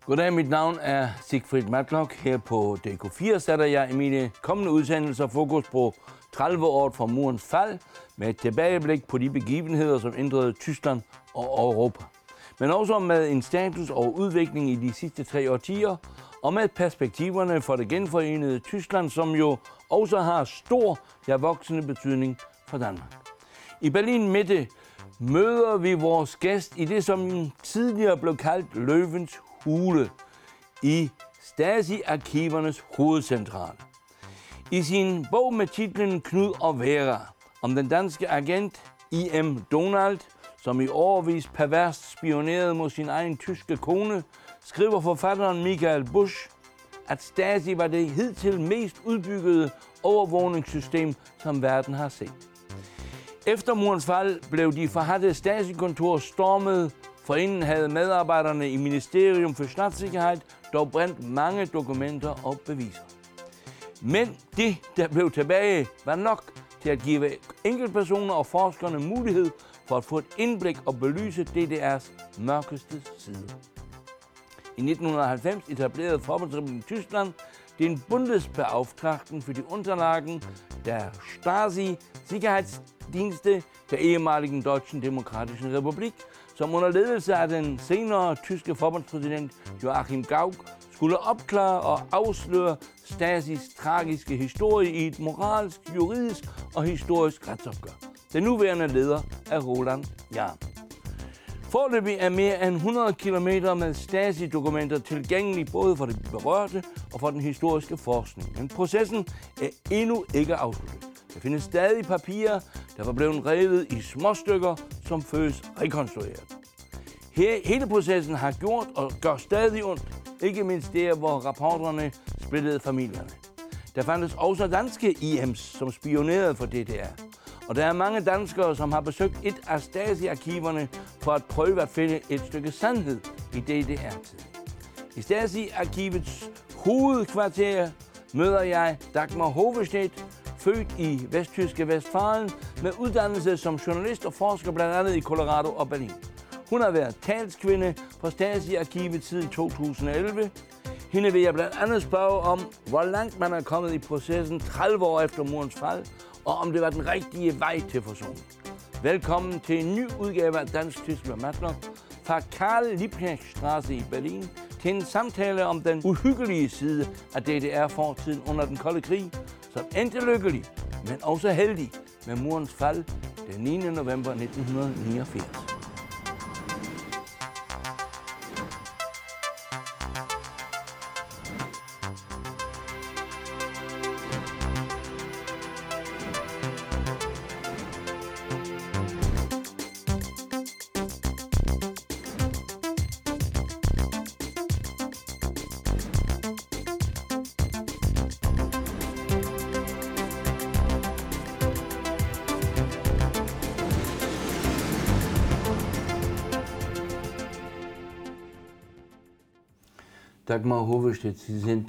Goddag, mit navn er Siegfried Matlock. Her på DK4 sætter jeg i mine kommende udsendelser fokus på 30 år fra murens fald, med et tilbageblik på de begivenheder, som ændrede Tyskland og Europa. Men også med en status og udvikling i de sidste 3 årtier, og med perspektiverne for det genforenede Tyskland, som jo også har stor, ja voksende betydning for Danmark. I Berlin Mitte møder vi vores gæst i det, som tidligere blev kaldt Løvens Hule, i Stasi-arkivernes hovedcentrale. I sin bog med titlen Knud og Vera, om den danske agent I.M. Donald, som i årevis perverst spionerede mod sin egen tyske kone, skriver forfatteren Michael Busch, at Stasi var det hidtil mest udbyggede overvågningssystem, som verden har set. Efter murens fald blev de forhadte Stasi-kontorer stormet. Forinden havde medarbejderne i Ministerium for Statssikkerhed dog brændt mange dokumenter og beviser. Men det, der blev tilbage, var nok til at give enkeltpersoner og forskerne mulighed for at få et indblik og belyse DDR's mørkeste side. I 1990 etablerede Forbundsrepublikken Tyskland den Bundesbeauftragten für die Unterlagen der Stasi-Sicherheitsdienste der ehemaligen Deutschen Demokratischen Republik, som under ledelse af den senere tyske forbundspræsident Joachim Gauck skulle opklare og afsløre Stasis tragiske historie i et moralsk, juridisk og historisk retsopgør. Den nuværende leder er Roland Jahn. Foreløbig er mere end 100 kilometer med Stasi-dokumenter tilgængelige både for de berørte og for den historiske forskning. Men processen er endnu ikke afsluttet. Der findes stadig papirer, der var blevet revet i småstykker, som føles rekonstrueret. Hele processen har gjort og gør stadig ondt, ikke mindst der, hvor rapporterne splittede familierne. Der fandtes også danske IM's, som spionerede for DDR. Og der er mange danskere, som har besøgt et af Stasi-arkiverne for at prøve at finde et stykke sandhed i DDR-tiden. I Stasi-arkivets hovedkvarter møder jeg Dagmar Hovestedt, født i vesttyske Westfalen, med uddannelse som journalist og forsker blandt andet i Colorado og Berlin. Hun har været talskvinde for Stasi-arkivet siden 2011. Hende vil jeg blandt andet spørge om, hvor langt man er kommet i processen 30 år efter murens fald, og om det var den rigtige vej til forsoning. Velkommen til en ny udgave af Dansk-Tysk med Matlock fra Karl-Liebknecht-Straße i Berlin til en samtale om den uhyggelige side af DDR-fortiden under den kolde krig, som endte lykkelig, men også heldig med murens fald den 9. november 1989. Dagmar Hovestedt, Sie sind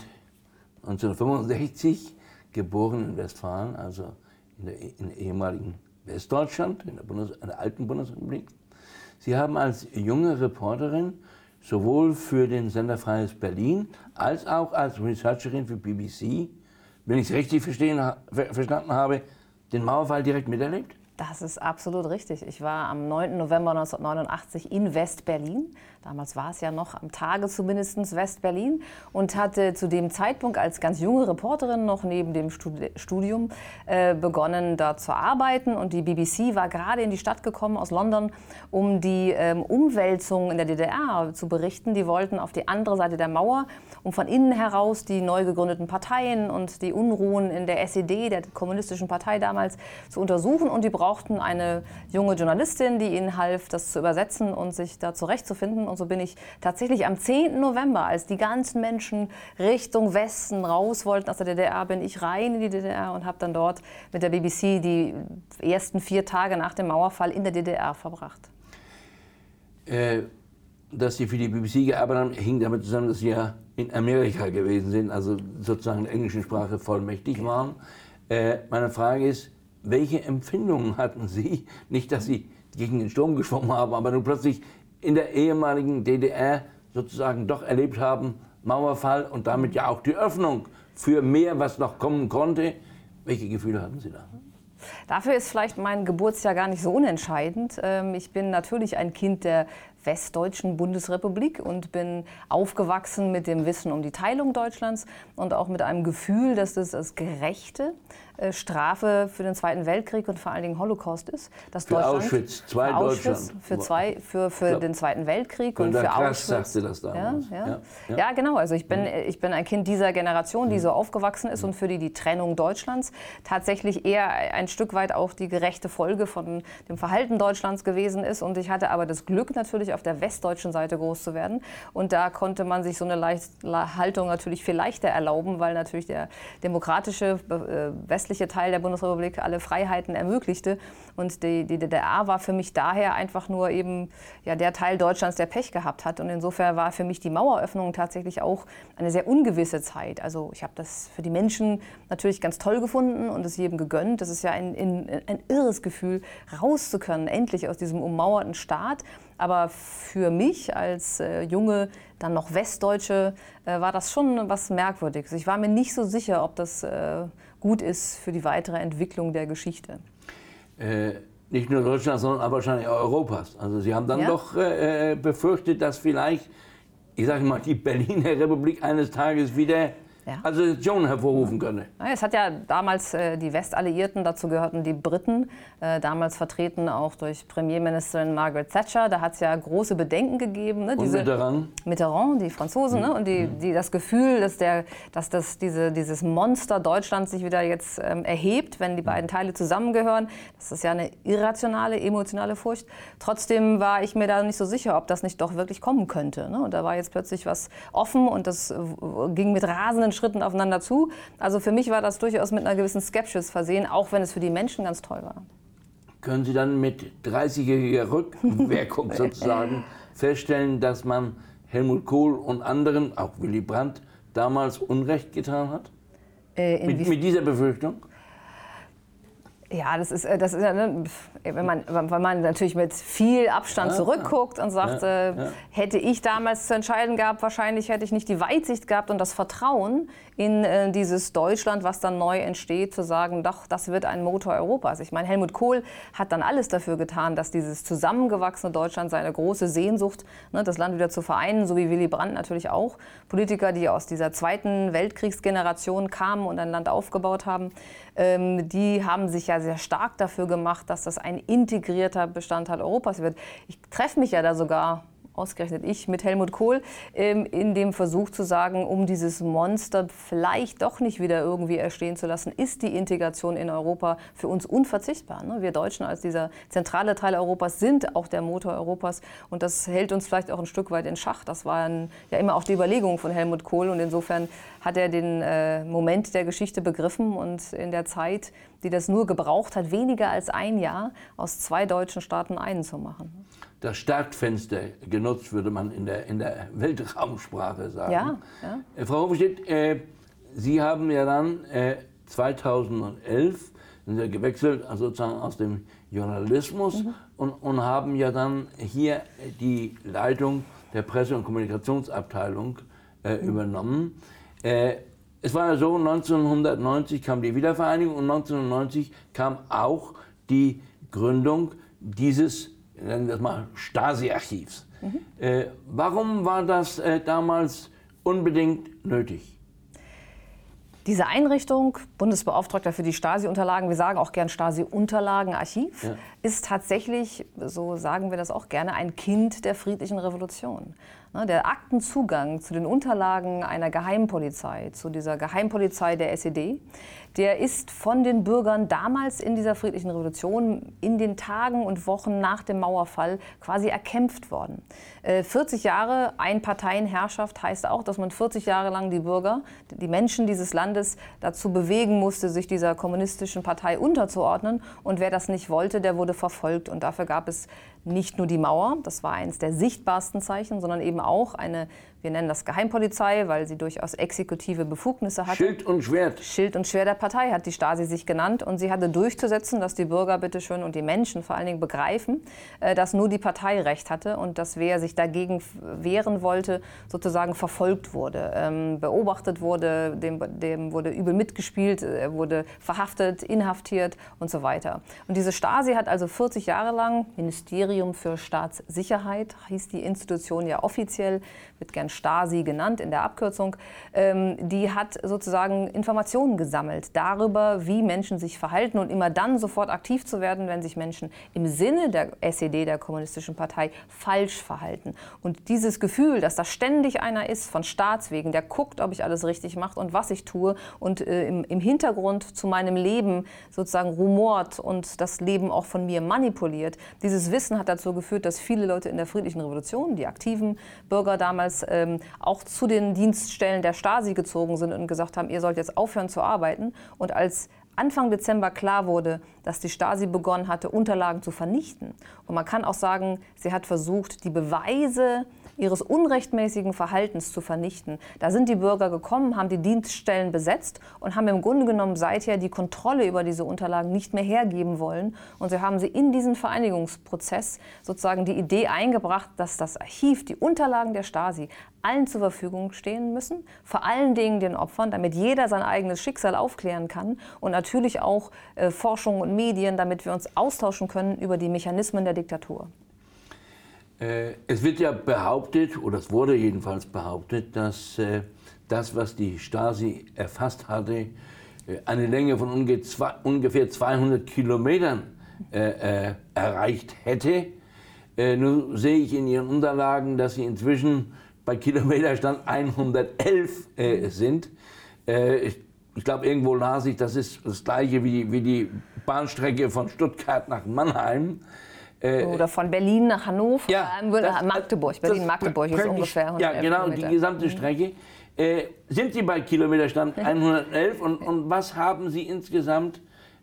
1965 geboren in Westfalen, also in der ehemaligen Westdeutschland, in der alten Bundesrepublik. Sie haben als junge Reporterin sowohl für den Sender Freies Berlin als auch als Researcherin für BBC, wenn ich es richtig verstanden habe, den Mauerfall direkt miterlebt? Das ist absolut richtig. Ich war am 9. November 1989 in West-Berlin. Damals war es ja noch am Tage zumindest West-Berlin und hatte zu dem Zeitpunkt als ganz junge Reporterin noch neben dem Studium begonnen, da zu arbeiten. Und die BBC war gerade in die Stadt gekommen aus London, um die Umwälzungen in der DDR zu berichten. Die wollten auf die andere Seite der Mauer, um von innen heraus die neu gegründeten Parteien und die Unruhen in der SED, der kommunistischen Partei damals, zu untersuchen. Und die brauchten eine junge Journalistin, die ihnen half, das zu übersetzen und sich da zurechtzufinden. Und so bin ich tatsächlich am 10. November, als die ganzen Menschen Richtung Westen raus wollten aus der DDR, bin ich rein in die DDR und habe dann dort mit der BBC die ersten 4 Tage nach dem Mauerfall in der DDR verbracht. Dass Sie für die BBC gearbeitet haben, hing damit zusammen, dass Sie ja in Amerika gewesen sind, also sozusagen in der englischen Sprache vollmächtig waren. Meine Frage ist, welche Empfindungen hatten Sie? Nicht, dass Sie gegen den Sturm geschwommen haben, aber nun plötzlich in der ehemaligen DDR sozusagen doch erlebt haben, Mauerfall und damit ja auch die Öffnung für mehr, was noch kommen konnte. Welche Gefühle hatten Sie da? Dafür ist vielleicht mein Geburtsjahr gar nicht so unentscheidend. Ich bin natürlich ein Kind der westdeutschen Bundesrepublik und bin aufgewachsen mit dem Wissen um die Teilung Deutschlands und auch mit einem Gefühl, dass das als gerechte Strafe für den Zweiten Weltkrieg und vor allen Dingen Holocaust ist. Dass für Deutschland, Auschwitz, für Auschwitz, für den Zweiten Weltkrieg und für Auschwitz. sagte das damals. Ja, genau. Also ich bin ein Kind dieser Generation, die so aufgewachsen ist und für die Trennung Deutschlands tatsächlich eher ein Stück weit auch die gerechte Folge von dem Verhalten Deutschlands gewesen ist. Und ich hatte aber das Glück, natürlich auf der westdeutschen Seite groß zu werden. Und da konnte man sich so eine Haltung natürlich viel leichter erlauben, weil natürlich der demokratische westliche Teil der Bundesrepublik alle Freiheiten ermöglichte. Und die DDR war für mich daher einfach nur eben der Teil Deutschlands, der Pech gehabt hat. Und insofern war für mich die Maueröffnung tatsächlich auch eine sehr ungewisse Zeit. Also ich habe das für die Menschen natürlich ganz toll gefunden und es jedem gegönnt. Das ist ja ein irres Gefühl, raus zu können, endlich aus diesem ummauerten Staat. Aber für mich als junge, dann noch Westdeutsche, war das schon was Merkwürdiges. Ich war mir nicht so sicher, ob das gut ist für die weitere Entwicklung der Geschichte. Nicht nur Deutschlands, sondern aber wahrscheinlich auch Europas. Also Sie haben dann doch befürchtet, dass vielleicht, ich sage mal, die Berliner Republik eines Tages wieder Assoziationen hervorrufen könne. Es hat ja damals die Westalliierten, dazu gehörten die Briten, damals vertreten auch durch Premierministerin Margaret Thatcher. Da hat es ja große Bedenken gegeben. Ne? Und Mitterrand, die Franzosen, ne? Und die das Gefühl, dass dieses Monster Deutschland sich wieder jetzt erhebt, wenn die beiden Teile zusammengehören. Das ist ja eine irrationale, emotionale Furcht. Trotzdem war ich mir da nicht so sicher, ob das nicht doch wirklich kommen könnte. Ne? Und da war jetzt plötzlich was offen und das ging mit rasenden Schritten aufeinander zu. Also für mich war das durchaus mit einer gewissen Skepsis versehen, auch wenn es für die Menschen ganz toll war. Können Sie dann mit 30-jähriger Rückwirkung sozusagen feststellen, dass man Helmut Kohl und anderen, auch Willy Brandt, damals Unrecht getan hat? Mit dieser Befürchtung? Ja, das ist ja, ne, wenn man natürlich mit viel Abstand zurückguckt und sagt, hätte ich damals zu entscheiden gehabt, wahrscheinlich hätte ich nicht die Weitsicht gehabt und das Vertrauen in dieses Deutschland, was dann neu entsteht, zu sagen, doch, das wird ein Motor Europas. Ich meine, Helmut Kohl hat dann alles dafür getan, dass dieses zusammengewachsene Deutschland, seine große Sehnsucht, ne, das Land wieder zu vereinen, so wie Willy Brandt natürlich auch, Politiker, die aus dieser Zweiten Weltkriegsgeneration kamen und ein Land aufgebaut haben, die haben sich ja sehr stark dafür gemacht, dass das ein integrierter Bestandteil Europas wird. Ich treffe mich ja da sogar, ausgerechnet ich, mit Helmut Kohl, in dem Versuch zu sagen, um dieses Monster vielleicht doch nicht wieder irgendwie erstehen zu lassen, ist die Integration in Europa für uns unverzichtbar. Ne? Wir Deutschen als dieser zentrale Teil Europas sind auch der Motor Europas und das hält uns vielleicht auch ein Stück weit in Schach. Das war ja immer auch die Überlegung von Helmut Kohl und insofern hat er den Moment der Geschichte begriffen und in der Zeit, die das nur gebraucht hat, weniger als ein Jahr, aus zwei deutschen Staaten einen zu machen. Das Startfenster genutzt, würde man in der Weltraumsprache sagen. Ja. Frau Hoppenstedt, Sie haben ja dann 2011 sind ja gewechselt, also sozusagen aus dem Journalismus und haben ja dann hier die Leitung der Presse- und Kommunikationsabteilung übernommen. Es war ja so, 1990 kam die Wiedervereinigung und 1990 kam auch die Gründung dieses, nennen wir es mal, Stasi-Archivs. Warum war das damals unbedingt nötig? Diese Einrichtung, Bundesbeauftragter für die Stasi-Unterlagen, wir sagen auch gern Stasi-Unterlagen-Archiv, ist tatsächlich, so sagen wir das auch gerne, ein Kind der friedlichen Revolution. Der Aktenzugang zu den Unterlagen einer Geheimpolizei, zu dieser Geheimpolizei der SED, der ist von den Bürgern damals in dieser friedlichen Revolution in den Tagen und Wochen nach dem Mauerfall quasi erkämpft worden. 40 Jahre Einparteienherrschaft heißt auch, dass man 40 Jahre lang die Bürger, die Menschen dieses Landes dazu bewegen musste, sich dieser kommunistischen Partei unterzuordnen. Und wer das nicht wollte, der wurde verfolgt. Und dafür gab es nicht nur die Mauer, das war eines der sichtbarsten Zeichen, sondern eben auch eine, Wir nennen das Geheimpolizei, weil sie durchaus exekutive Befugnisse hatte. Schild und Schwert. Schild und Schwert der Partei hat die Stasi sich genannt. Und sie hatte durchzusetzen, dass die Bürger bitteschön und die Menschen vor allen Dingen begreifen, dass nur die Partei Recht hatte und dass wer sich dagegen wehren wollte, sozusagen verfolgt wurde, beobachtet wurde, dem wurde übel mitgespielt, er wurde verhaftet, inhaftiert und so weiter. Und diese Stasi hat also 40 Jahre lang, Ministerium für Staatssicherheit hieß die Institution ja offiziell, wird gern Stasi genannt in der Abkürzung, die hat sozusagen Informationen gesammelt darüber, wie Menschen sich verhalten und immer dann sofort aktiv zu werden, wenn sich Menschen im Sinne der SED, der Kommunistischen Partei, falsch verhalten. Und dieses Gefühl, dass da ständig einer ist von Staatswegen, der guckt, ob ich alles richtig mache und was ich tue und im Hintergrund zu meinem Leben sozusagen rumort und das Leben auch von mir manipuliert. Dieses Wissen hat dazu geführt, dass viele Leute in der friedlichen Revolution, die aktiven Bürger damals, auch zu den Dienststellen der Stasi gezogen sind und gesagt haben, ihr sollt jetzt aufhören zu arbeiten. Und als Anfang Dezember klar wurde, dass die Stasi begonnen hatte, Unterlagen zu vernichten. Und man kann auch sagen, sie hat versucht, die Beweise ihres unrechtmäßigen Verhaltens zu vernichten. Da sind die Bürger gekommen, haben die Dienststellen besetzt und haben im Grunde genommen seither die Kontrolle über diese Unterlagen nicht mehr hergeben wollen. Und so haben sie in diesen Vereinigungsprozess sozusagen die Idee eingebracht, dass das Archiv, die Unterlagen der Stasi, allen zur Verfügung stehen müssen, vor allen Dingen den Opfern, damit jeder sein eigenes Schicksal aufklären kann und natürlich auch Forschung und Medien, damit wir uns austauschen können über die Mechanismen der Diktatur. Es wird ja behauptet, oder es wurde jedenfalls behauptet, dass das, was die Stasi erfasst hatte, eine Länge von ungefähr 200 Kilometern erreicht hätte. Nun sehe ich in Ihren Unterlagen, dass Sie inzwischen bei Kilometerstand 111 sind. Ich glaube, irgendwo las ich, das ist das gleiche wie die Bahnstrecke von Stuttgart nach Mannheim. Oder von Berlin nach Hannover, ja, Magdeburg. Berlin-Magdeburg ist ungefähr 111 Ja, genau, Kilometer. die gesamte Strecke. Sind Sie bei Kilometerstand 111 und was haben Sie insgesamt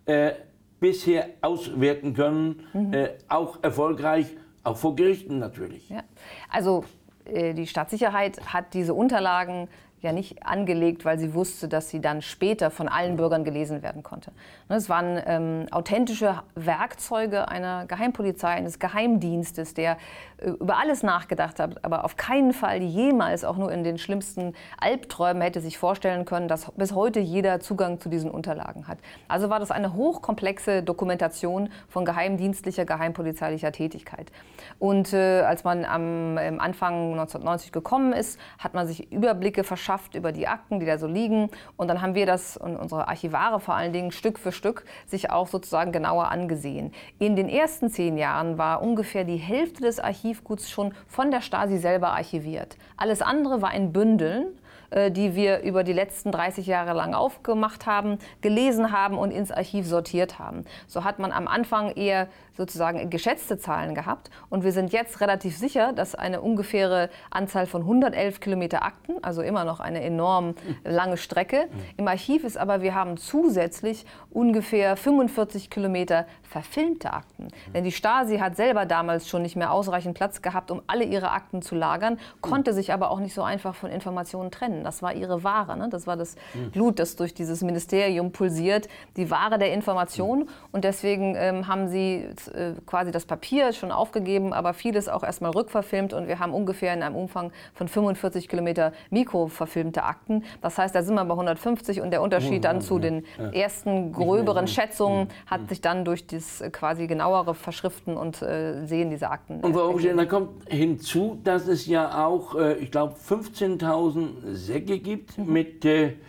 bisher auswerten können, auch erfolgreich, auch vor Gerichten natürlich? Ja. Also die Staatssicherheit hat diese Unterlagen ja nicht angelegt, weil sie wusste, dass sie dann später von allen Bürgern gelesen werden konnte. Es waren authentische Werkzeuge einer Geheimpolizei, eines Geheimdienstes, der über alles nachgedacht hat, aber auf keinen Fall jemals, auch nur in den schlimmsten Albträumen, hätte sich vorstellen können, dass bis heute jeder Zugang zu diesen Unterlagen hat. Also war das eine hochkomplexe Dokumentation von geheimdienstlicher, geheimpolizeilicher Tätigkeit. Und als man am Anfang 1990 gekommen ist, hat man sich Überblicke verschafft über die Akten, die da so liegen. Und dann haben wir das und unsere Archivare vor allen Dingen Stück für Stück sich auch sozusagen genauer angesehen. In den ersten 10 Jahren war ungefähr die Hälfte des Archivguts schon von der Stasi selber archiviert. Alles andere war in Bündeln, die wir über die letzten 30 Jahre lang aufgemacht haben, gelesen haben und ins Archiv sortiert haben. So hat man am Anfang eher sozusagen geschätzte Zahlen gehabt. Und wir sind jetzt relativ sicher, dass eine ungefähre Anzahl von 111 Kilometer Akten, also immer noch eine enorm lange Strecke, im Archiv ist, aber wir haben zusätzlich ungefähr 45 Kilometer verfilmte Akten. Denn die Stasi hat selber damals schon nicht mehr ausreichend Platz gehabt, um alle ihre Akten zu lagern, konnte sich aber auch nicht so einfach von Informationen trennen. Das war ihre Ware, ne? Das war das Blut, das durch dieses Ministerium pulsiert, die Ware der Information. Und deswegen haben sie quasi das Papier schon aufgegeben, aber vieles auch erstmal rückverfilmt. Und wir haben ungefähr in einem Umfang von 45 Kilometer mikroverfilmte Akten. Das heißt, da sind wir bei 150 und der Unterschied dann zu den ersten gröberen Schätzungen hat sich dann durch das quasi genauere Verschriften und Sehen dieser Akten. Und Frau Oberstein, da kommt hinzu, dass es ja auch, ich glaube, 15.000 Säcke gibt mit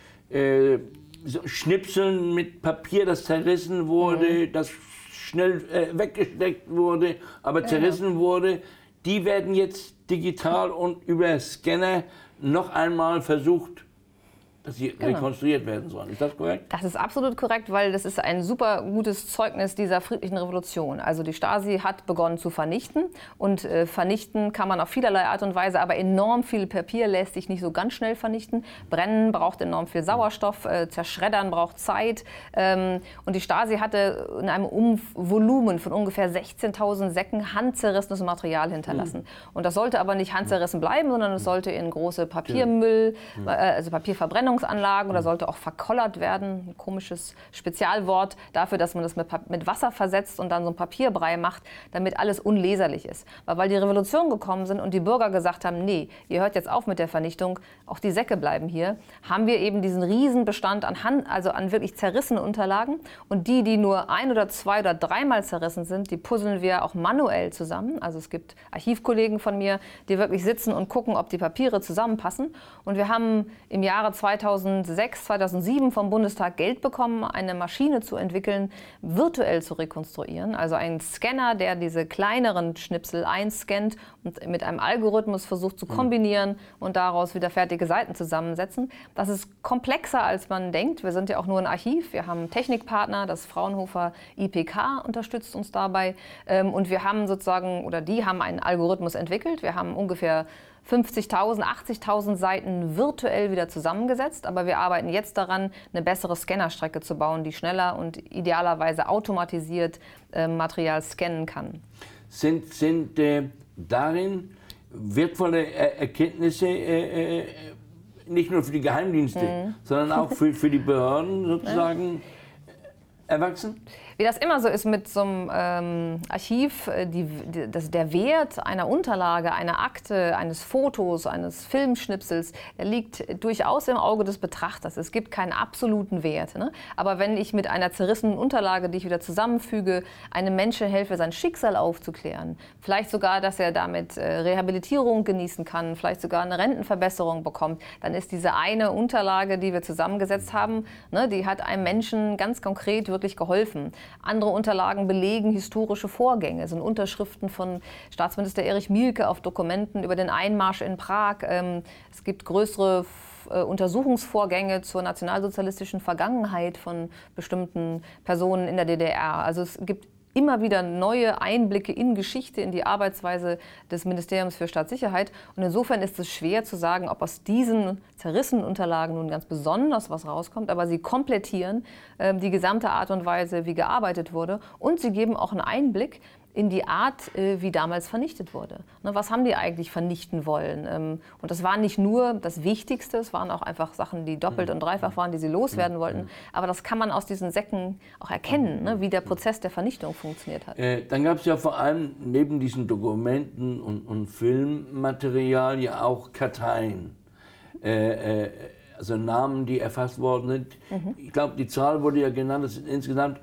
so Schnipseln mit Papier, das zerrissen wurde, das schnell weggesteckt wurde, aber zerrissen wurde. Die werden jetzt digital und über Scanner noch einmal versucht dass sie rekonstruiert werden sollen. Ist das korrekt? Das ist absolut korrekt, weil das ist ein super gutes Zeugnis dieser friedlichen Revolution. Also die Stasi hat begonnen zu vernichten und vernichten kann man auf vielerlei Art und Weise, aber enorm viel Papier lässt sich nicht so ganz schnell vernichten. Brennen braucht enorm viel Sauerstoff, zerschreddern braucht Zeit und die Stasi hatte in einem Volumen von ungefähr 16.000 Säcken handzerrissenes Material hinterlassen. Und das sollte aber nicht handzerrissen bleiben, sondern es sollte in große Papiermüll, also Papierverbrennungsanlagen oder sollte auch verkollert werden. Ein komisches Spezialwort dafür, dass man das mit Wasser versetzt und dann so ein Papierbrei macht, damit alles unleserlich ist. Weil die Revolution gekommen sind und die Bürger gesagt haben, nee, ihr hört jetzt auf mit der Vernichtung, auch die Säcke bleiben hier, haben wir eben diesen Riesenbestand an wirklich zerrissenen Unterlagen. Und die nur ein- oder zwei- oder dreimal zerrissen sind, die puzzeln wir auch manuell zusammen. Also es gibt Archivkollegen von mir, die wirklich sitzen und gucken, ob die Papiere zusammenpassen. Und wir haben im Jahre 2006, 2007 vom Bundestag Geld bekommen, eine Maschine zu entwickeln, virtuell zu rekonstruieren. Also ein Scanner, der diese kleineren Schnipsel einscannt und mit einem Algorithmus versucht zu kombinieren und daraus wieder fertige Seiten zusammensetzen. Das ist komplexer, als man denkt. Wir sind ja auch nur ein Archiv. Wir haben einen Technikpartner, das Fraunhofer IPK unterstützt uns dabei. Und wir haben die haben einen Algorithmus entwickelt. Wir haben ungefähr 50.000, 80.000 Seiten virtuell wieder zusammengesetzt, aber wir arbeiten jetzt daran, eine bessere Scannerstrecke zu bauen, die schneller und idealerweise automatisiert Material scannen kann. Sind darin wertvolle Erkenntnisse nicht nur für die Geheimdienste, sondern auch für die Behörden sozusagen erwachsen? Wie das immer so ist mit so einem Archiv, der Wert einer Unterlage, einer Akte, eines Fotos, eines Filmschnipsels, der liegt durchaus im Auge des Betrachters. Es gibt keinen absoluten Wert. Ne? Aber wenn ich mit einer zerrissenen Unterlage, die ich wieder zusammenfüge, einem Menschen helfe, sein Schicksal aufzuklären, vielleicht sogar, dass er damit Rehabilitierung genießen kann, vielleicht sogar eine Rentenverbesserung bekommt, dann ist diese eine Unterlage, die wir zusammengesetzt haben, ne, die hat einem Menschen ganz konkret wirklich geholfen. Andere Unterlagen belegen historische Vorgänge, sind Unterschriften von Staatsminister Erich Mielke auf Dokumenten über den Einmarsch in Prag. Es gibt größere Untersuchungsvorgänge zur nationalsozialistischen Vergangenheit von bestimmten Personen in der DDR. Also es gibt immer wieder neue Einblicke in Geschichte, in die Arbeitsweise des Ministeriums für Staatssicherheit. Und insofern ist es schwer zu sagen, ob aus diesen zerrissenen Unterlagen nun ganz besonders was rauskommt. Aber sie komplettieren die gesamte Art und Weise, wie gearbeitet wurde. Und sie geben auch einen Einblick in die Art, wie damals vernichtet wurde. Was haben die eigentlich vernichten wollen? Und das war nicht nur das Wichtigste, es waren auch einfach Sachen, die doppelt und dreifach waren, die sie loswerden wollten. Aber das kann man aus diesen Säcken auch erkennen, wie der Prozess der Vernichtung funktioniert hat. Dann gab es ja vor allem neben diesen Dokumenten und Filmmaterial ja auch Karteien. Also Namen, die erfasst worden sind. Ich glaube, die Zahl wurde ja genannt, es sind insgesamt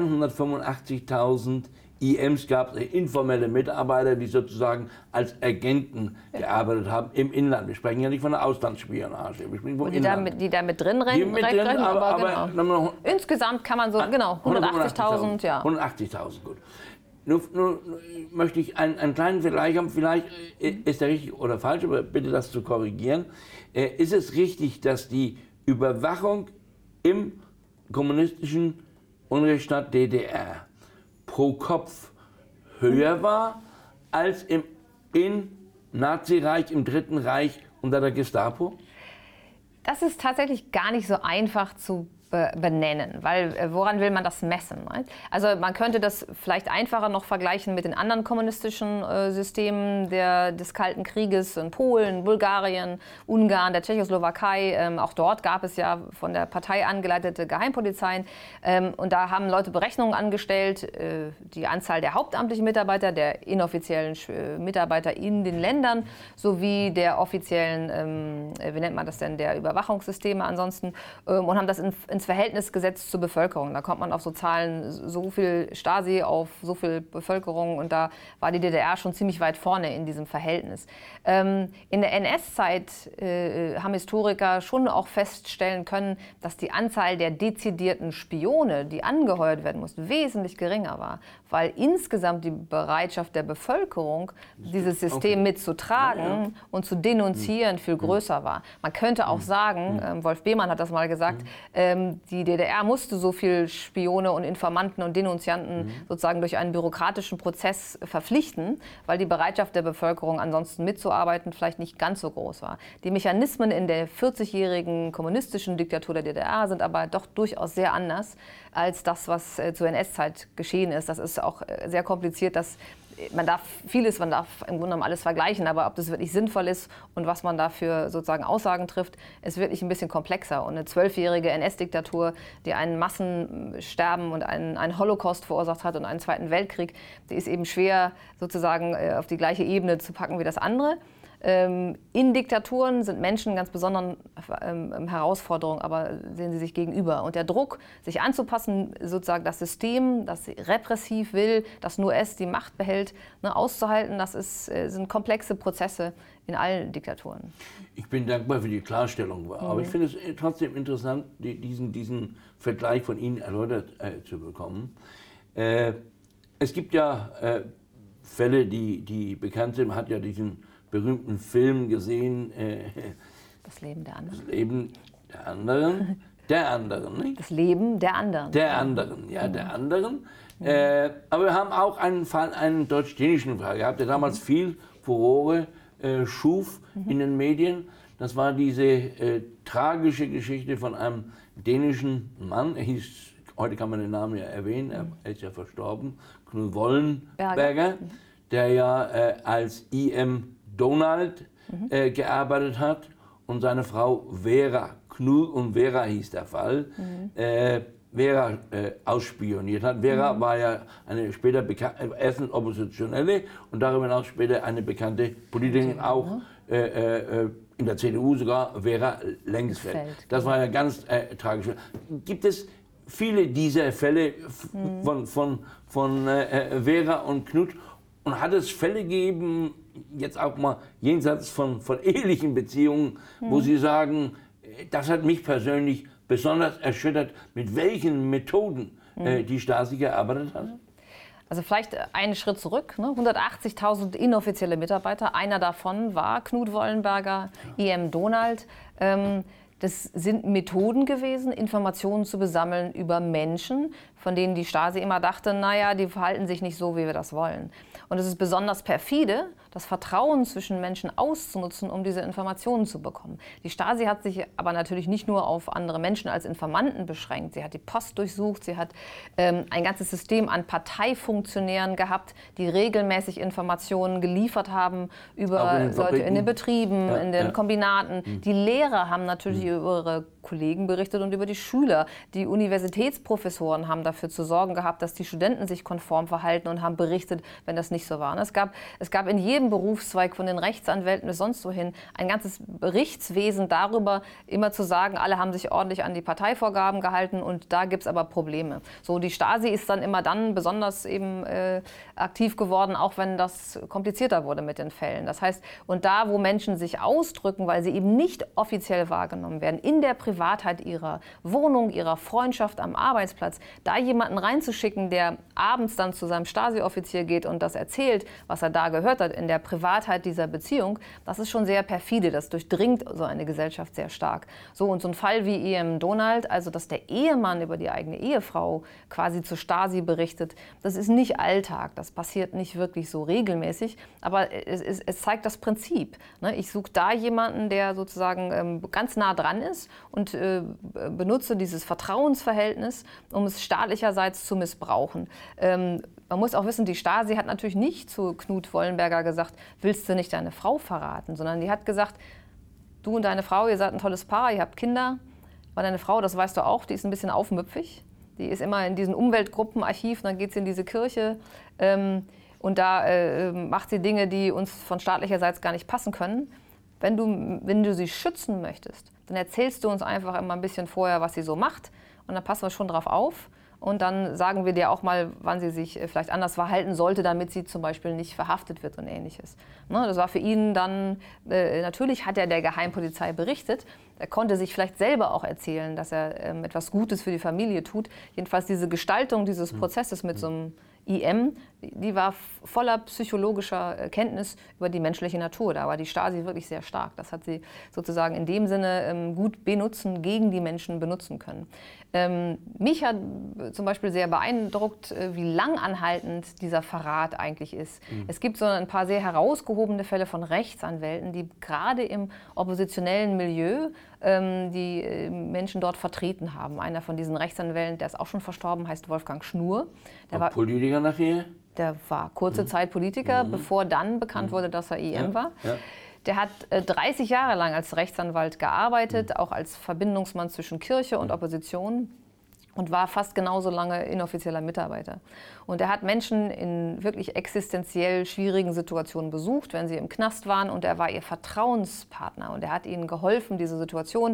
185.000 IMs gab es, informelle Mitarbeiter, die sozusagen als Agenten gearbeitet haben im Inland. Wir sprechen ja nicht von der Auslandsspionage, wir sprechen vom Inland. Die da mit drin rennen, aber genau. Insgesamt kann man so, 180.000, ja. 180.000, gut. Nur möchte ich einen kleinen Vergleich haben, vielleicht ist der richtig oder falsch, aber bitte das zu korrigieren. Ist es richtig, dass die Überwachung im kommunistischen Unrechtsstaat DDR pro Kopf höher war als im Nazireich, im Dritten Reich unter der Gestapo? Das ist tatsächlich gar nicht so einfach zu benennen, weil woran will man das messen? Also man könnte das vielleicht einfacher noch vergleichen mit den anderen kommunistischen Systemen des Kalten Krieges in Polen, Bulgarien, Ungarn, der Tschechoslowakei. Auch dort gab es ja von der Partei angeleitete Geheimpolizeien. Und da haben Leute Berechnungen angestellt, die Anzahl der hauptamtlichen Mitarbeiter, der inoffiziellen Mitarbeiter in den Ländern sowie der offiziellen, wie nennt man das denn, der Überwachungssysteme ansonsten, und haben das in ins Verhältnis gesetzt zur Bevölkerung. Da kommt man auf so Zahlen, so viel Stasi auf so viel Bevölkerung, und da war die DDR schon ziemlich weit vorne in diesem Verhältnis. In der NS-Zeit haben Historiker schon auch feststellen können, dass die Anzahl der dezidierten Spione, die angeheuert werden mussten, wesentlich geringer war, weil insgesamt die Bereitschaft der Bevölkerung, dieses System mitzutragen und zu denunzieren, viel größer war. Man könnte auch sagen, Wolf Behmann hat das mal gesagt, die DDR musste so viel Spione und Informanten und Denunzianten sozusagen durch einen bürokratischen Prozess verpflichten, weil die Bereitschaft der Bevölkerung ansonsten mitzuarbeiten vielleicht nicht ganz so groß war. Die Mechanismen in der 40-jährigen kommunistischen Diktatur der DDR sind aber doch durchaus sehr anders als das, was zur NS-Zeit geschehen ist. Das ist auch sehr kompliziert, man darf im Grunde genommen alles vergleichen, aber ob das wirklich sinnvoll ist und was man dafür sozusagen Aussagen trifft, ist wirklich ein bisschen komplexer. Und eine 12-jährige NS-Diktatur, die ein Massensterben und einen Holocaust verursacht hat und einen Zweiten Weltkrieg, die ist eben schwer sozusagen auf die gleiche Ebene zu packen wie das andere. In Diktaturen sind Menschen ganz besonderen Herausforderungen, aber sehen sie sich gegenüber. Und der Druck, sich anzupassen, sozusagen das System, das repressiv will, das nur es die Macht behält, auszuhalten, sind komplexe Prozesse in allen Diktaturen. Ich bin dankbar für die Klarstellung, aber ich finde es trotzdem interessant, diesen Vergleich von Ihnen erläutert zu bekommen. Es gibt ja Fälle, die bekannt sind. Man hat ja diesen berühmten Film gesehen. Das Leben der anderen. Das Leben der anderen. Der anderen, nicht? Das Leben der anderen. Der anderen, ja, der anderen. Aber wir haben auch einen Fall, einen deutsch-dänischen Fall gehabt, der damals viel Furore schuf in den Medien. Das war diese tragische Geschichte von einem dänischen Mann. Er hieß, heute kann man den Namen ja erwähnen, er ist ja verstorben, Knud Wollenberger, der ja als I.M. Donald gearbeitet hat, und seine Frau Vera, Knud und Vera hieß der Fall, Vera ausspioniert hat. Vera war ja eine später erstens Oppositionelle und darüber hinaus später eine bekannte Politikerin, auch in der CDU sogar, Vera Lengsfeld. Das war ja ganz tragisch. Gibt es viele dieser Fälle von Vera und Knud? Und hat es Fälle gegeben, jetzt auch mal jenseits von ehelichen Beziehungen, wo Sie sagen, das hat mich persönlich besonders erschüttert, mit welchen Methoden die Stasi gearbeitet hat? Also vielleicht einen Schritt zurück, 180.000 inoffizielle Mitarbeiter, einer davon war Knud Wollenberger, I.M. Donald. Das sind Methoden gewesen, Informationen zu besammeln über Menschen, von denen die Stasi immer dachte, naja, die verhalten sich nicht so, wie wir das wollen. Und es ist besonders perfide, das Vertrauen zwischen Menschen auszunutzen, um diese Informationen zu bekommen. Die Stasi hat sich aber natürlich nicht nur auf andere Menschen als Informanten beschränkt. Sie hat die Post durchsucht, sie hat ein ganzes System an Parteifunktionären gehabt, die regelmäßig Informationen geliefert haben über Leute in den Betrieben, in den Kombinaten. Die Lehrer haben natürlich über ihre Kollegen berichtet und über die Schüler. Die Universitätsprofessoren haben dafür zu sorgen gehabt, dass die Studenten sich konform verhalten und haben berichtet, wenn das nicht so war. Und es gab in jedem Berufszweig, von den Rechtsanwälten bis sonst wohin, ein ganzes Berichtswesen darüber, immer zu sagen, alle haben sich ordentlich an die Parteivorgaben gehalten und da gibt es aber Probleme. So, die Stasi ist dann immer dann besonders eben aktiv geworden, auch wenn das komplizierter wurde mit den Fällen. Das heißt, und da, wo Menschen sich ausdrücken, weil sie eben nicht offiziell wahrgenommen werden, in der Privatheit ihrer Wohnung, ihrer Freundschaft am Arbeitsplatz, da jemanden reinzuschicken, der abends dann zu seinem Stasi-Offizier geht und das erzählt, was er da gehört hat, in der Privatheit dieser Beziehung, das ist schon sehr perfide, das durchdringt so eine Gesellschaft sehr stark. So, und so ein Fall wie I.M. Donald, also dass der Ehemann über die eigene Ehefrau quasi zur Stasi berichtet, das ist nicht Alltag, das passiert nicht wirklich so regelmäßig, aber es zeigt das Prinzip. Ich suche da jemanden, der sozusagen ganz nah dran ist und benutze dieses Vertrauensverhältnis, um es staatlicherseits zu missbrauchen. Man muss auch wissen, die Stasi hat natürlich nicht zu Knud Wollenberger gesagt, willst du nicht deine Frau verraten, sondern die hat gesagt, du und deine Frau, ihr seid ein tolles Paar, ihr habt Kinder, aber deine Frau, das weißt du auch, die ist ein bisschen aufmüpfig, die ist immer in diesen Umweltgruppenarchiv, dann geht sie in diese Kirche und da macht sie Dinge, die uns von staatlicherseits gar nicht passen können. Wenn du sie schützen möchtest, dann erzählst du uns einfach immer ein bisschen vorher, was sie so macht. und dann passen wir schon drauf auf. Und dann sagen wir dir auch mal, wann sie sich vielleicht anders verhalten sollte, damit sie zum Beispiel nicht verhaftet wird und Ähnliches. Ne, das war für ihn dann, natürlich hat er der Geheimpolizei berichtet. Er konnte sich vielleicht selber auch erzählen, dass er etwas Gutes für die Familie tut. Jedenfalls diese Gestaltung dieses Prozesses mit so einem IM, die war voller psychologischer Kenntnis über die menschliche Natur. Da war die Stasi wirklich sehr stark. Das hat sie sozusagen in dem Sinne gut gegen die Menschen benutzen können. Mich hat zum Beispiel sehr beeindruckt, wie langanhaltend dieser Verrat eigentlich ist. Es gibt so ein paar sehr herausgehobene Fälle von Rechtsanwälten, die gerade im oppositionellen Milieu die Menschen dort vertreten haben. Einer von diesen Rechtsanwälten, der ist auch schon verstorben, heißt Wolfgang Schnur. Der war Politiker nachher? Der war kurze Zeit Politiker, bevor dann bekannt wurde, dass er IM war. Ja. Der hat 30 Jahre lang als Rechtsanwalt gearbeitet, auch als Verbindungsmann zwischen Kirche und Opposition. Und war fast genauso lange inoffizieller Mitarbeiter. Und er hat Menschen in wirklich existenziell schwierigen Situationen besucht, wenn sie im Knast waren. Und er war ihr Vertrauenspartner. Und er hat ihnen geholfen, diese Situation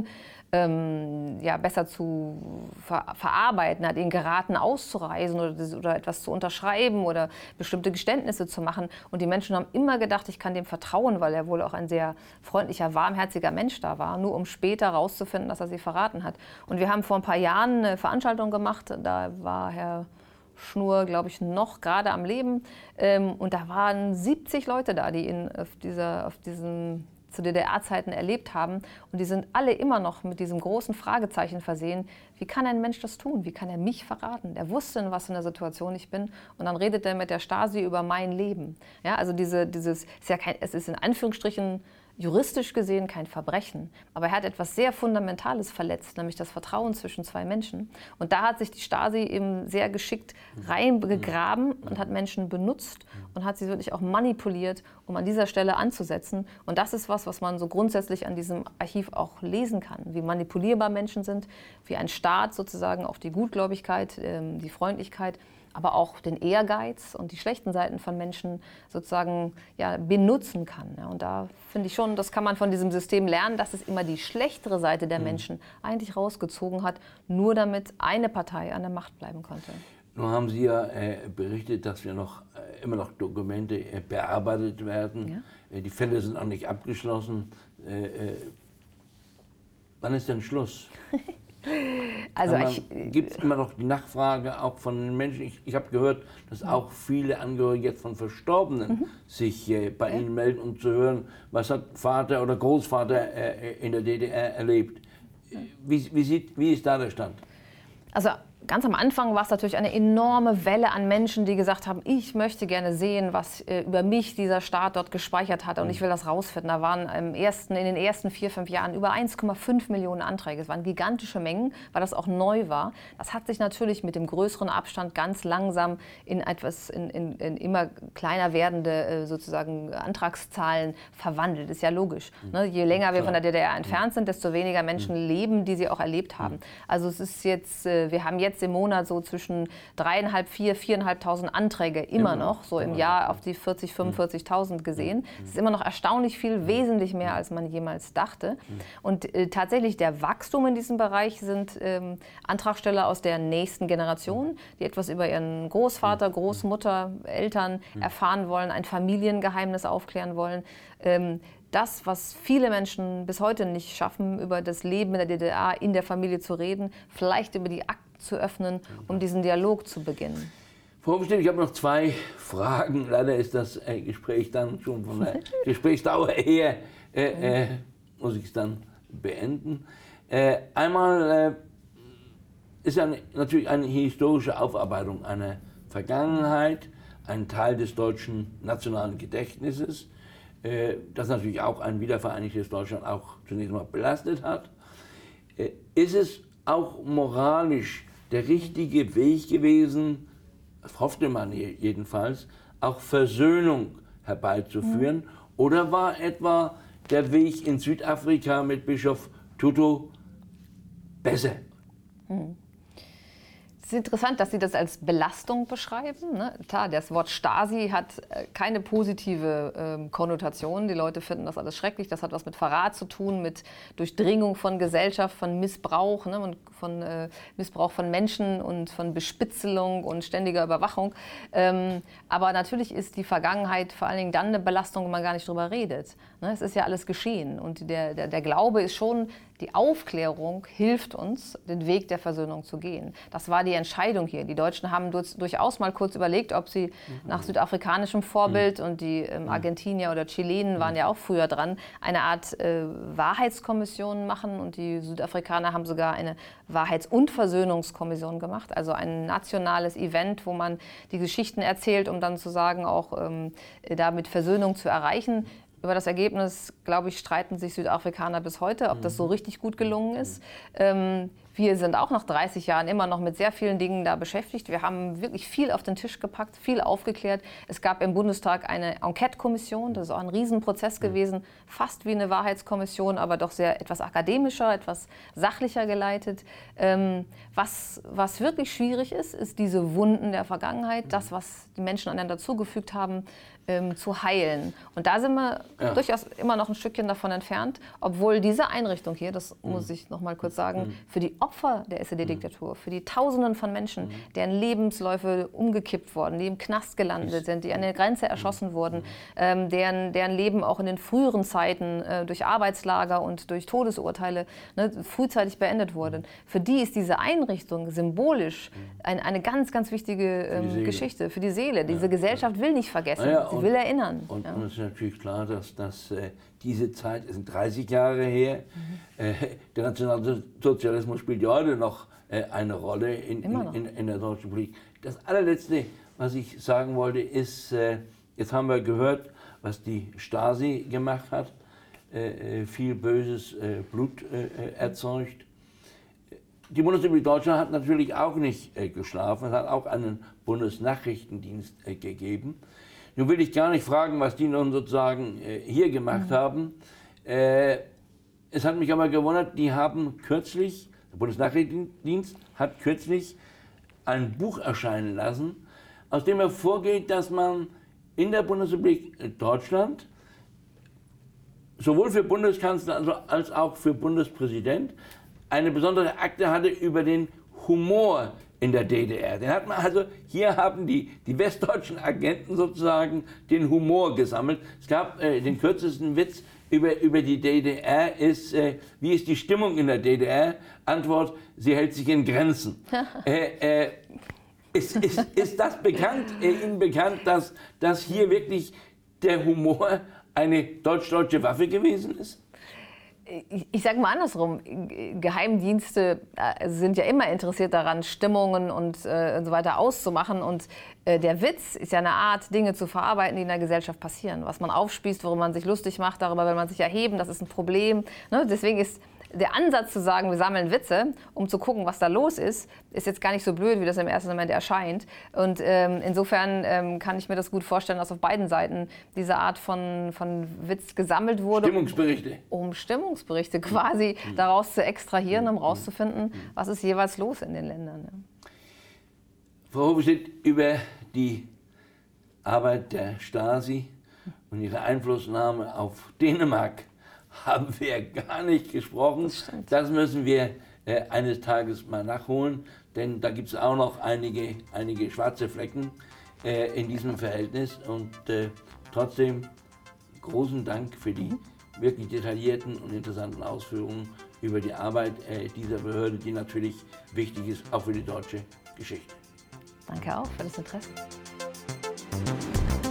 besser zu verarbeiten. Er hat ihnen geraten, auszureisen oder etwas zu unterschreiben oder bestimmte Geständnisse zu machen. Und die Menschen haben immer gedacht, ich kann dem vertrauen, weil er wohl auch ein sehr freundlicher, warmherziger Mensch da war, nur um später herauszufinden, dass er sie verraten hat. Und wir haben vor ein paar Jahren eine Veranstaltung gemacht, da war Herr Schnur, glaube ich, noch gerade am Leben. Und da waren 70 Leute da, die ihn auf diesem zu DDR-Zeiten erlebt haben. Und die sind alle immer noch mit diesem großen Fragezeichen versehen. Wie kann ein Mensch das tun? Wie kann er mich verraten? Der wusste, in was für einer Situation ich bin. Und dann redet er mit der Stasi über mein Leben. Ja, also es ist in Anführungsstrichen juristisch gesehen kein Verbrechen. Aber er hat etwas sehr Fundamentales verletzt, nämlich das Vertrauen zwischen zwei Menschen. Und da hat sich die Stasi eben sehr geschickt reingegraben und hat Menschen benutzt und hat sie wirklich auch manipuliert, um an dieser Stelle anzusetzen. Und das ist was man so grundsätzlich an diesem Archiv auch lesen kann, wie manipulierbar Menschen sind, wie ein Staat sozusagen auch die Gutgläubigkeit, die Freundlichkeit, aber auch den Ehrgeiz und die schlechten Seiten von Menschen sozusagen benutzen kann. Ja, und da finde ich schon, das kann man von diesem System lernen, dass es immer die schlechtere Seite der Menschen eigentlich rausgezogen hat, nur damit eine Partei an der Macht bleiben konnte. Nun haben Sie ja berichtet, dass wir immer noch Dokumente bearbeitet werden. Ja? Die Fälle sind auch nicht abgeschlossen. Wann ist denn Schluss? Also gibt es immer noch die Nachfrage auch von den Menschen? Ich habe gehört, dass auch viele Angehörige jetzt von Verstorbenen sich bei Ihnen melden, um zu hören, was hat Vater oder Großvater in der DDR erlebt. Wie ist da der Stand? Also ganz am Anfang war es natürlich eine enorme Welle an Menschen, die gesagt haben, ich möchte gerne sehen, was über mich dieser Staat dort gespeichert hat und ich will das rausfinden. Da waren in den ersten 4, 5 Jahren über 1,5 Millionen Anträge. Es waren gigantische Mengen, weil das auch neu war. Das hat sich natürlich mit dem größeren Abstand ganz langsam in immer kleiner werdende sozusagen Antragszahlen verwandelt. Ist ja logisch. Ne? Je länger wir von der DDR entfernt sind, desto weniger Menschen leben, die sie auch erlebt haben. Also es ist jetzt, wir haben jetzt im Monat so zwischen 3.500, 4.500 Anträge immer noch, so im Jahr auf die 40.000, 45.000 gesehen. Es ist immer noch erstaunlich viel, wesentlich mehr, als man jemals dachte. Und tatsächlich der Wachstum in diesem Bereich sind Antragsteller aus der nächsten Generation, die etwas über ihren Großvater, Großmutter, Eltern erfahren wollen, ein Familiengeheimnis aufklären wollen. Das, was viele Menschen bis heute nicht schaffen, über das Leben in der DDR in der Familie zu reden, vielleicht über die Akten zu öffnen, um diesen Dialog zu beginnen. Frau Oberstimm, ich habe noch 2 Fragen. Leider ist das Gespräch dann schon von der Gesprächsdauer her, muss ich es dann beenden. Einmal ist natürlich eine historische Aufarbeitung einer Vergangenheit, ein Teil des deutschen nationalen Gedächtnisses, das natürlich auch ein wiedervereinigtes Deutschland auch zunächst mal belastet hat. Ist es auch moralisch der richtige Weg gewesen, das hoffte man jedenfalls, auch Versöhnung herbeizuführen? Oder war etwa der Weg in Südafrika mit Bischof Tutu besser? Es ist interessant, dass Sie das als Belastung beschreiben. Ne? Klar, das Wort Stasi hat keine positive Konnotation. Die Leute finden das alles schrecklich. Das hat was mit Verrat zu tun, mit Durchdringung von Gesellschaft, von Missbrauch, ne? Und von Missbrauch von Menschen und von Bespitzelung und ständiger Überwachung. Aber natürlich ist die Vergangenheit vor allen Dingen dann eine Belastung, wenn man gar nicht drüber redet. Ne? Es ist ja alles geschehen. Und der Glaube ist schon, die Aufklärung hilft uns, den Weg der Versöhnung zu gehen. Das war die Entscheidung hier. Die Deutschen haben durchaus mal kurz überlegt, ob sie nach südafrikanischem Vorbild, und die Argentinier oder Chilenen waren ja auch früher dran, eine Art Wahrheitskommission machen. Und die Südafrikaner haben sogar eine Wahrheits- und Versöhnungskommission gemacht. Also ein nationales Event, wo man die Geschichten erzählt, um dann zu sagen, auch damit Versöhnung zu erreichen. Über das Ergebnis, glaube ich, streiten sich Südafrikaner bis heute, ob das so richtig gut gelungen ist. Wir sind auch nach 30 Jahren immer noch mit sehr vielen Dingen da beschäftigt. Wir haben wirklich viel auf den Tisch gepackt, viel aufgeklärt. Es gab im Bundestag eine Enquete-Kommission, das ist auch ein Riesenprozess gewesen, fast wie eine Wahrheitskommission, aber doch sehr etwas akademischer, etwas sachlicher geleitet. Was wirklich schwierig ist, ist diese Wunden der Vergangenheit, das, was die Menschen einander zugefügt haben, zu heilen. Und da sind wir durchaus immer noch ein Stückchen davon entfernt, obwohl diese Einrichtung hier, das muss ich noch mal kurz sagen, für die Opfer der SED-Diktatur, für die Tausenden von Menschen, deren Lebensläufe umgekippt wurden, die im Knast gelandet sind, die an der Grenze erschossen wurden, deren Leben auch in den früheren Zeiten durch Arbeitslager und durch Todesurteile frühzeitig beendet wurde. Für die ist diese Einrichtung symbolisch eine ganz, ganz wichtige Geschichte für die Seele. Diese Gesellschaft will nicht vergessen. Sie will erinnern. Und es ist natürlich klar, dass diese Zeit, es sind 30 Jahre her, der Nationalsozialismus spielt ja heute noch eine Rolle in der deutschen Politik. Das allerletzte, was ich sagen wollte, ist, jetzt haben wir gehört, was die Stasi gemacht hat, viel böses Blut erzeugt. Die Bundesrepublik Deutschland hat natürlich auch nicht geschlafen, es hat auch einen Bundesnachrichtendienst gegeben. Nun will ich gar nicht fragen, was die nun sozusagen hier gemacht haben. Es hat mich aber gewundert, die haben kürzlich, der Bundesnachrichtendienst hat kürzlich ein Buch erscheinen lassen, aus dem hervorgeht, dass man in der Bundesrepublik Deutschland sowohl für Bundeskanzler als auch für Bundespräsident eine besondere Akte hatte über den Humor in der DDR. Den hat man also, hier haben die westdeutschen Agenten sozusagen den Humor gesammelt. Es gab den kürzesten Witz über die DDR, wie ist die Stimmung in der DDR? Antwort, sie hält sich in Grenzen. Ist das Ihnen bekannt, dass hier wirklich der Humor eine deutsch-deutsche Waffe gewesen ist? Ich sage mal andersrum, Geheimdienste sind ja immer interessiert daran, Stimmungen und so weiter auszumachen. Und der Witz ist ja eine Art, Dinge zu verarbeiten, die in der Gesellschaft passieren. Was man aufspießt, worüber man sich lustig macht, darüber will man sich erheben, das ist ein Problem. Ne? Deswegen ist der Ansatz zu sagen, wir sammeln Witze, um zu gucken, was da los ist jetzt gar nicht so blöd, wie das im ersten Moment erscheint. Und insofern kann ich mir das gut vorstellen, dass auf beiden Seiten diese Art von Witz gesammelt wurde. Stimmungsberichte. Um Stimmungsberichte quasi daraus zu extrahieren, um rauszufinden, was ist jeweils los in den Ländern. Ja. Frau Hofstedt, über die Arbeit der Stasi und ihre Einflussnahme auf Dänemark haben wir gar nicht gesprochen. Das müssen wir eines Tages mal nachholen, denn da gibt es auch noch einige schwarze Flecken in diesem Verhältnis. Und trotzdem großen Dank für die wirklich detaillierten und interessanten Ausführungen über die Arbeit dieser Behörde, die natürlich wichtig ist, auch für die deutsche Geschichte. Danke auch für das Interesse.